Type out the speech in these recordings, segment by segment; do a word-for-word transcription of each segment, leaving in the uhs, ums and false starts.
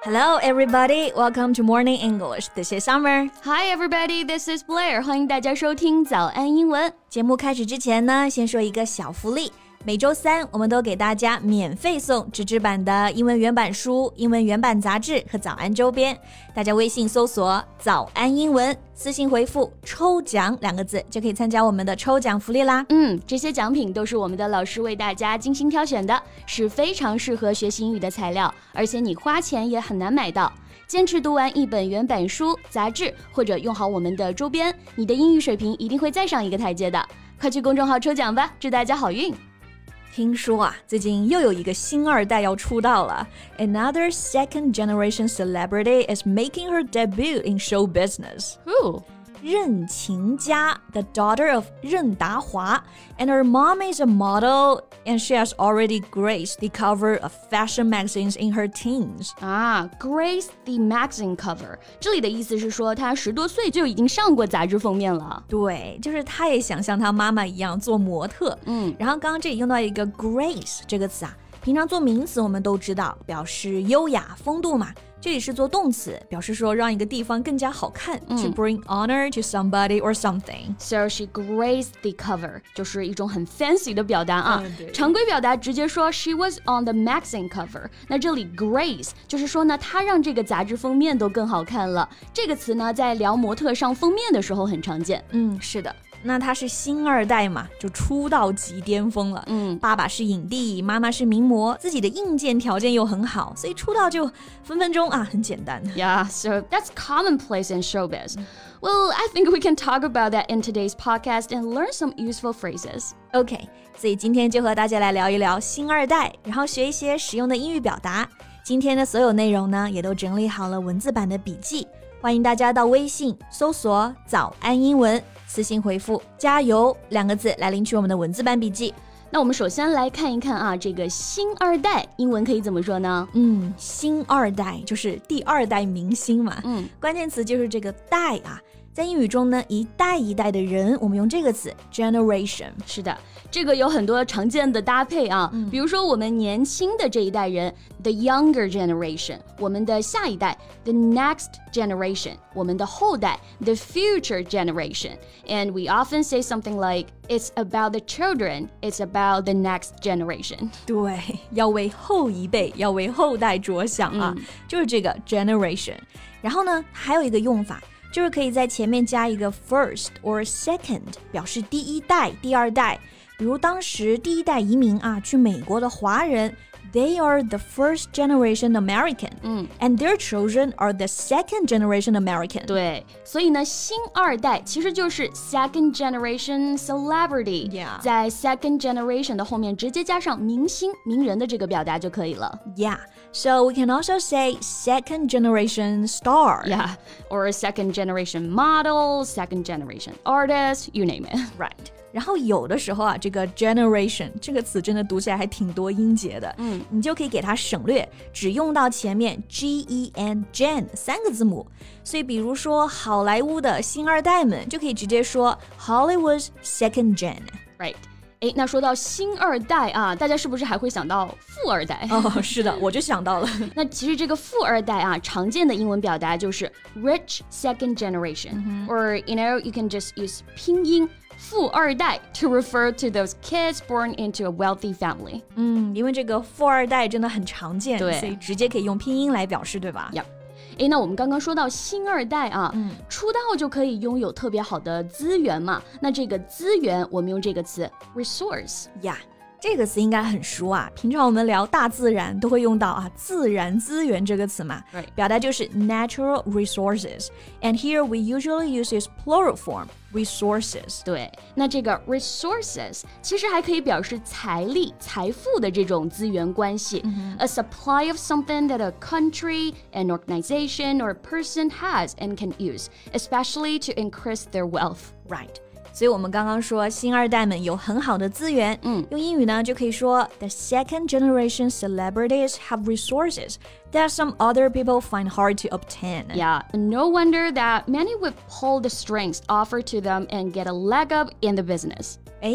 Hello, everybody. Welcome to Morning English. This is Summer. Hi, everybody. This is Blair. 欢迎大家收听早安英文。 节目开始之前呢，先说一个小福利。每周三，我们都给大家免费送纸质版的英文原版书、英文原版杂志和早安周边。大家微信搜索“早安英文”，私信回复“抽奖”两个字，就可以参加我们的抽奖福利啦。 嗯，这些奖品都是我们的老师为大家精心挑选的，是非常适合学习英语的材料，而且你花钱也很难买到。坚持读完一本原版书、杂志，或者用好我们的周边，你的英语水平一定会再上一个台阶的。快去公众号抽奖吧，祝大家好运！ 听说啊，最近又有一个星二代要出道了。Another second generation celebrity is making her debut in show business. Who? 任晴佳 the daughter of 任达华 and her mom is a model and she has already graced the cover of fashion magazines in her teens. 啊 grace the magazine cover 这里的意思是说她十多岁就已经上过杂志封面了。 对，就是她也想像她妈妈一样做模特。 嗯， 然后刚刚这里用到一个 grace 这个词啊，平常做名词我们都知道表示优雅风度嘛，这里是做动词，表示说让一个地方更加好看、嗯、to bring honor to somebody or something. So she graced the cover 就是一种很 fancy 的表达啊、 嗯、 常规表达直接说 she was on the magazine cover. 那这里 grace 就是说呢，她让这个杂志封面都更好看了。这个词呢，在聊模特上封面的时候很常见。 嗯，是的。那他是星二代嘛，就出道即巅峰了。 嗯， 爸爸是影帝，妈妈是名模，自己的硬件条件又很好，所以出道就分分钟啊，很简单。 Yeah, so that's commonplace in showbiz. Well, I think we can talk about that in today's podcast and learn some useful phrases. OK, 所以今天就和大家来聊一聊星二代，然后学一些实用的英语表达。今天的所有内容呢，也都整理好了文字版的笔记。欢迎大家到微信搜索早安英文，私信回复加油两个字来领取我们的文字版笔记。 那我们首先来看一看啊，这个星二代英文可以怎么说呢？ 嗯，星二代就是第二代明星嘛。 嗯， 关键词就是这个代啊。在英语中呢，一代一代的人，我们用这个词 generation。 是的，这个有很多常见的搭配啊、嗯、比如说我们年轻的这一代人 the younger generation， 我们的下一代 the next generation， 我们的后代 the future generation， and we often say something like it's about the children, it's about the next generation。 对，要为后一辈，要为后代着想啊、嗯、就是这个 generation。 然后呢，还有一个用法，就是可以在前面加一个 first or second， 表示第一代、第二代。比如当时第一代移民啊，去美国的华人 they are the first generation American、嗯、and their children are the second generation American。 对，所以呢，星二代其实就是 second generation celebrity、 yeah. 在 second generation 的后面直接加上明星、名人的这个表达就可以了。 Yeah.So we can also say second generation star. Yeah, or a second generation model, second generation artist, you name it. Right. 然后有的时候啊，这个 generation 这个词真的读起来还挺多音节的。嗯，你就可以给它省略，只用到前面 G E N gen 三个字母。所以比如说好莱坞的星二代们就可以直接说 Hollywood's second gen. Right.诶，那说到星二代啊，大家是不是还会想到富二代？ 哦，是的，我就想到了。 那其实这个富二代啊，常见的英文表达就是 rich second generation、mm-hmm. or you know you can just use 拼音富二代 to refer to those kids born into a wealthy family。 嗯，因为这个富二代真的很常见， 对， 所以直接可以用拼音来表示，对吧？ Yep。诶，那我们刚刚说到星二代啊、嗯、出道就可以拥有特别好的资源嘛，那这个资源我们用这个词 resource。 呀、yeah.这个词应该很熟啊，平常我们聊大自然都会用到啊，自然资源这个词嘛， right. 表达就是 natural resources and here we usually use its plural form resources。 对，那这个 resources 其实还可以表示财力、财富的这种资源关系、mm-hmm. a supply of something that a country, an organization or a person has and can use, especially to increase their wealth. Right.所以我们刚刚说星二代们有很好的资源，嗯，用英语呢就可以说 The second generation celebrities have resources that some other people find hard to obtain. Yeah, no wonder that many would pull the strings offered to them and get a leg up in the business. 诶，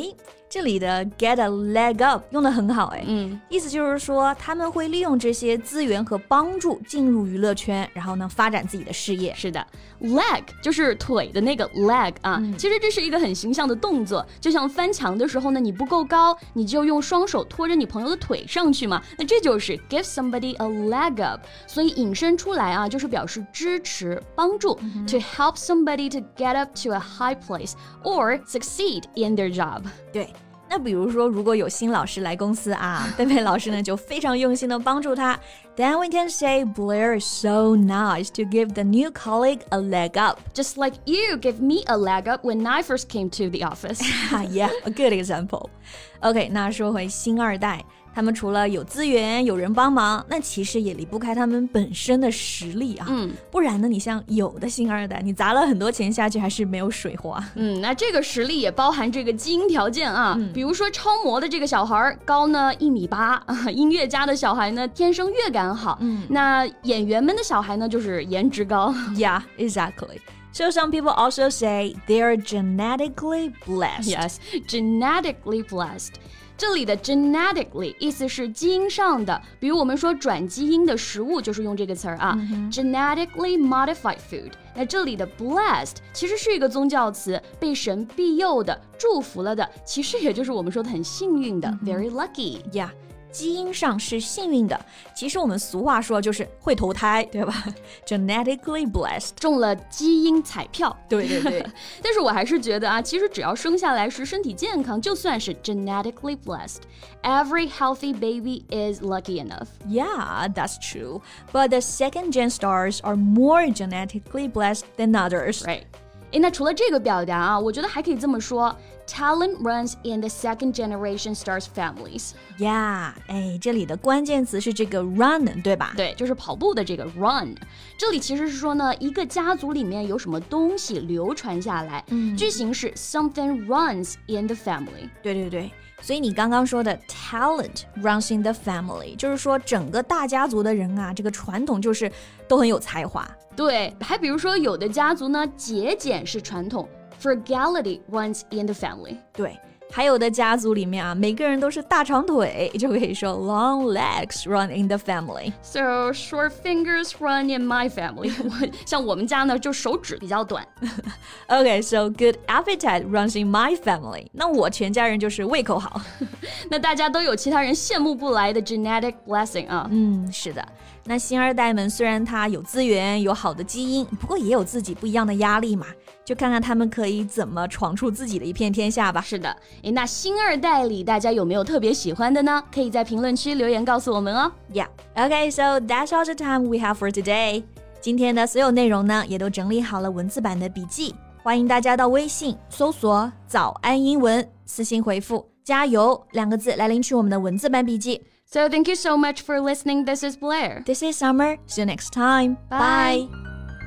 这里的 get a leg up 用得很好哎， 嗯， 意思就是说他们会利用这些资源和帮助进入娱乐圈，然后呢发展自己的事业。 是的 leg 就是腿的那个 leg 啊、嗯、其实这是一个很形象的动作，就像翻墙的时候呢，你不够高，你就用双手拖着你朋友的腿上去嘛，那这就是 give somebody a leg up， 所以引申出来啊，就是表示支持帮助、嗯、to help somebody to get up to a high place or succeed in their job。 对，那比如说如果有新老师来公司啊，贝贝老师呢就非常用心的帮助他， Then we can say Blair is so nice to give the new colleague a leg up. Just like you give me a leg up when I first came to the office. Yeah, a good example. OK, 那说回星二代，他们除了有资源有人帮忙，那其实也离不开他们本身的实力啊。 嗯， 不然呢，你像有的星二代，你砸了很多钱下去还是没有水花。 嗯，那这个实力也包含这个基因条件啊。 嗯、 比如说超模的这个小孩高呢一米八，音乐家的小孩呢天生乐感好。 嗯， 那演员们的小孩呢就是颜值高。 Yeah, exactly. So some people also say they're genetically blessed. Yes, genetically blessed.这里的 genetically 意思是基因上的，比如我们说转基因的食物就是用这个词儿啊、嗯、genetically modified food。 那这里的 blessed 其实是一个宗教词，被神庇佑的，祝福了的，其实也就是我们说的很幸运的、嗯、very lucky。 Yeah， 基因上是幸运的，其实我们俗话说就是会投胎，对吧？ Genetically blessed， 中了基因彩票。 对对对但是我还是觉得啊，其实只要生下来时身体健康，就算是 genetically blessed. Every healthy baby is lucky enough. Yeah, that's true. But the second gen stars are more genetically blessed than others. Right. 诶，那除了这个表达啊，我觉得还可以这么说 Talent runs in the second generation stars families. Yeah, 哎，这里的关键词是这个 run， 对吧？ 对，就是跑步的这个 run。这里其实是说呢，一个家族里面有什么东西流传下来，嗯、句型是 something runs in the family。 对对对。所以你刚刚说的 talent runs in the family， 就是说整个大家族的人啊，这个传统就是都很有才华。 对，还比如说有的家族呢，节俭是传统 ，frugality runs in the family。 对。还有的家族里面啊，每个人都是大长腿，就可以说 long legs run in the family. So short fingers run in my family. 像我们家呢，就手指比较短。 Okay, so good appetite runs in my family. 那我全家人就是胃口好。 那大家都有其他人羡慕不来的 genetic blessing 啊。 嗯，是的。那星二代们虽然他有资源，有好的基因，不过也有自己不一样的压力嘛。就看看他们可以怎么闯出自己的一片天下吧。 是的，诶，那星二代里大家有没有特别喜欢的呢？可以在评论区留言告诉我们哦。 Yeah, okay, so that's all the time we have for today. 今天的所有内容呢，也都整理好了文字版的笔记，欢迎大家到微信搜索早安英文，私信回复加油两个字来领取我们的文字版笔记。 So thank you so much for listening. This is Blair. This is Summer. See you next time. Bye. Bye.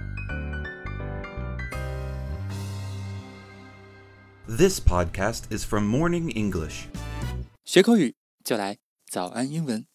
This podcast is from Morning English. 学口语就来早安英文。